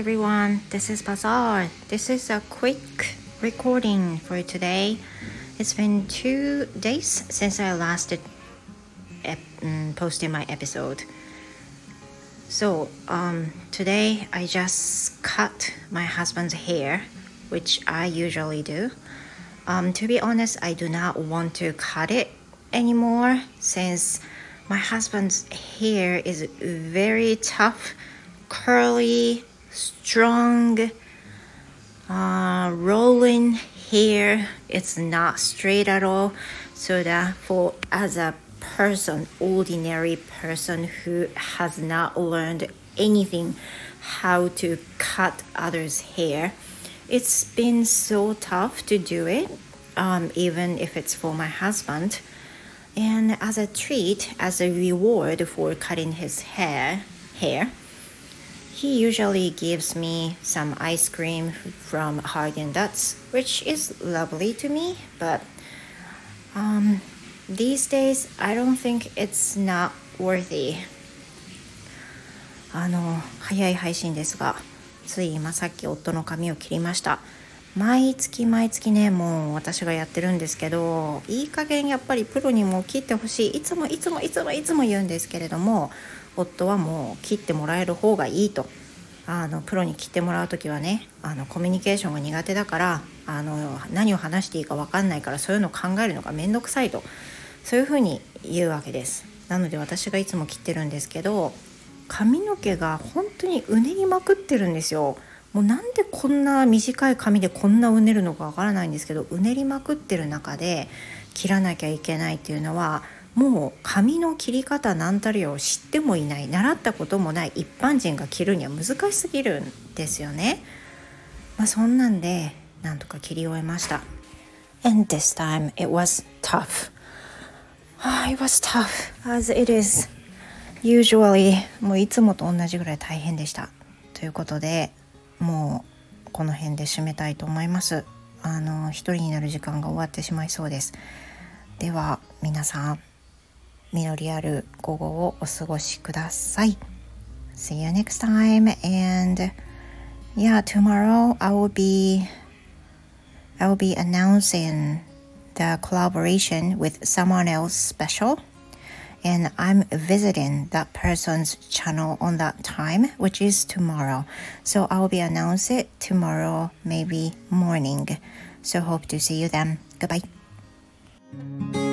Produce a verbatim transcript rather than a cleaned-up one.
everyone, this is Bazaar. This is a quick recording for today. It's been two days since I last ep- posted my episode. So um, today I just cut my husband's hair, which I usually do. Um, to be honest, I do not want to cut it anymore since my husband's hair is very tough, curly, strong, uh, rolling hair. It's not straight at all. So that for as a person, ordinary person who has not learned anything how to cut others' hair, it's been so tough to do it, um, even if it's for my husband. And as a treat, as a reward for cutting his hair, hair, he usually gives me some ice cream from Haagen-Dazs, which is lovely to me, but um, these days I don't think it's not worthy. あの早い配信ですが、つい今さっき夫の髪を切りました。毎月毎月ね、もう私がやってるんですけど、いい加減やっぱりプロにも切ってほしい、いつもいつもいつもいつも言うんですけれども、夫はもう切ってもらえる方がいいと。あのプロに切ってもらうときはね、あのコミュニケーションが苦手だから、あの何を話していいか分かんないから、そういうのを考えるのがめんどくさいと、そういうふうに言うわけです。なので私がいつも切ってるんですけど、髪の毛が本当にうねりまくってるんですよ。もうなんでこんな短い髪でこんなうねるのかわからないんですけど、うねりまくってる中で切らなきゃいけないっていうのは、もう髪の切り方なんたりを知ってもいない、習ったこともない一般人が切るには難しすぎるんですよね。まあそんなんでなんとか切り終えました。 And this time it was tough. It was tough as it is usually. もういつもと同じぐらい大変でしたということで、もうこの辺で締めたいと思います。あの一人になる時間が終わってしまいそうです。では皆さん、実りある午後をお過ごしください。 See you next time. And yeah, tomorrow I will be I will be announcing the collaboration with someone else special.And I'm visiting that person's channel on that time, which is tomorrow. So I'll be announcing it tomorrow, maybe morning. So hope to see you then. Goodbye.